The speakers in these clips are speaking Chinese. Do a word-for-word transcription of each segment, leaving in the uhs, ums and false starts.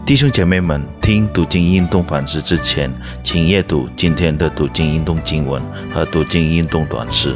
弟兄姐妹们，听读经运动反思之前，请阅读今天的读经运动经文和读经运动短诗。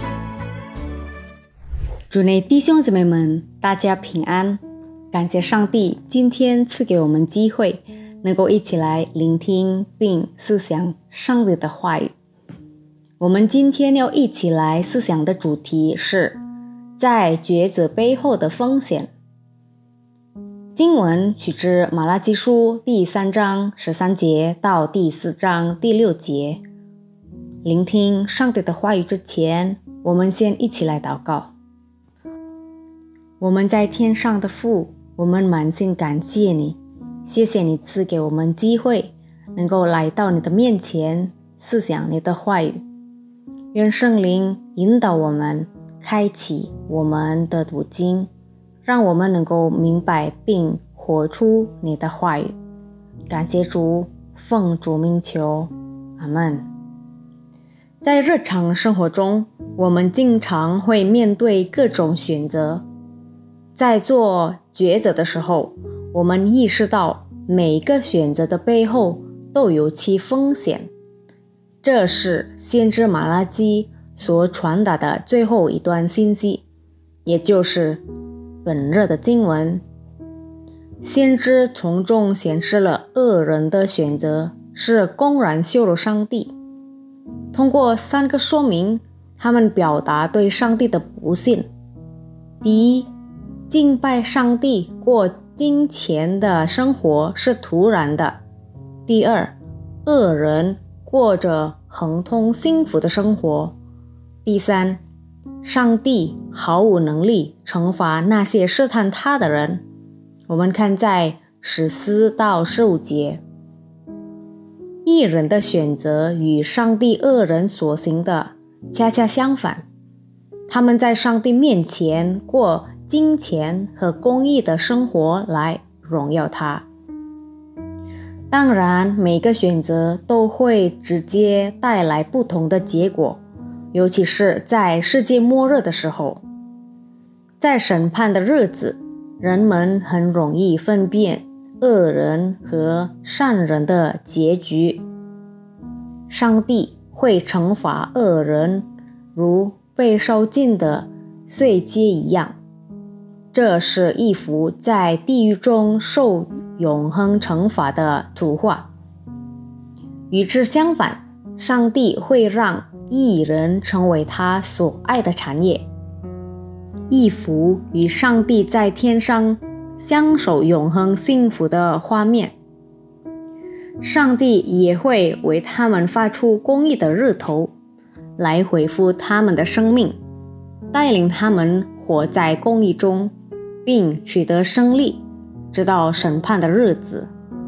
主内弟兄姐妹们，大家平安！感谢上帝今天赐给我们机会，能够一起来聆听并思想上帝的话语。我们今天要一起来思想的主题是在抉择背后的风险。经文取自马拉基书第三章十三节到第四章第六节。聆听上帝的话语之前，我们先一起来祷告。我们在天上的父，我们满心感谢你，谢谢你赐给我们机会，能够来到你的面前，思想你的话语。愿圣灵引导我们，开启我们的读经，让我们能够明白并活出你的话语。感谢主，奉主名求，阿们。在日常生活中，我们经常会面对各种选择。在做抉择的时候，我们意识到每一个选择的背后都有其风险。这是先知马拉基所传达的最后一段信息，也就是本日的经文。先知从中显示了恶人的选择是公然羞辱上帝。通过三个说明，他们表达对上帝的不信。第一，敬拜上帝过金钱的生活是徒然的。第二，恶人过着亨通幸福的生活。第三，上帝毫无能力惩罚那些试探他的人。我们看在十四到十五节。义人的选择与上帝恶人所行的恰恰相反，他们在上帝面前过金钱和公义的生活来荣耀他。当然，每个选择都会直接带来不同的结果，尤其是在世界末日的时候。在审判的日子，人们很容易分辨恶人和善人的结局。上帝会惩罚恶人，如被烧尽的碎秸一样。这是一幅在地狱中受永恒惩罚的图画。与之相反，上帝会让义人成为他所爱的产业，一幅与上帝在天上相守永恒幸福的画面。上帝也会为他们发出公义的日头，来恢复他们的生命，带领他们活在公义中，并取得胜利，直到审判的日子。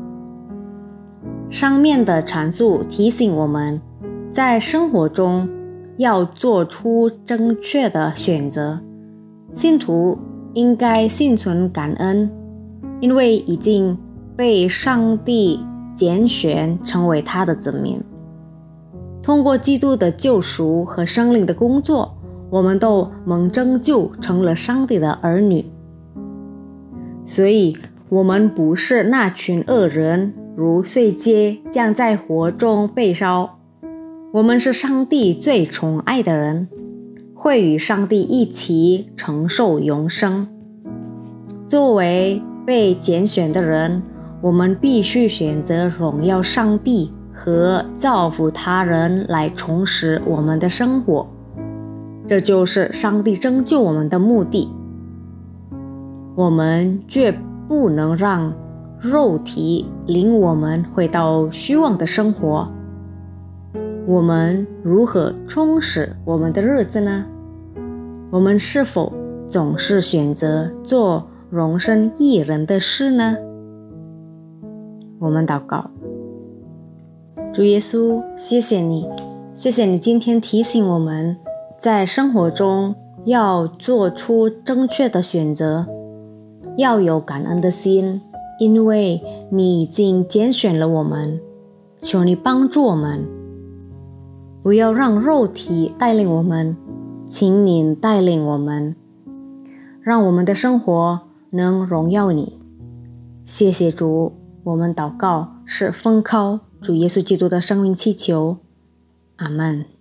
上面的阐述提醒我们，在生活中要做出正确的选择。信徒应该心存感恩，因为已经被上帝拣选成为他的子民。通过基督的救赎和圣灵的工作，我们都蒙拯救，成了上帝的儿女。所以我们不是那群恶人，如碎秸将在火中被烧。我们是上帝最宠爱的人，会与上帝一起承受永生。作为被拣选的人，我们必须选择荣耀上帝和造福他人来充实我们的生活。这就是上帝拯救我们的目的。我们绝不能让肉体领我们回到虚妄的生活。我们如何充实我们的日子呢？我们是否总是选择做荣升义人的事呢？我们祷告。主耶稣，谢谢你，谢谢你今天提醒我们，在生活中要做出正确的选择，要有感恩的心，因为你已经拣选了我们。求你帮助我们，不要让肉体带领我们，请你带领我们，让我们的生活能荣耀你。谢谢主， 我们祷告是奉靠主耶稣基督的生命祈求，阿们。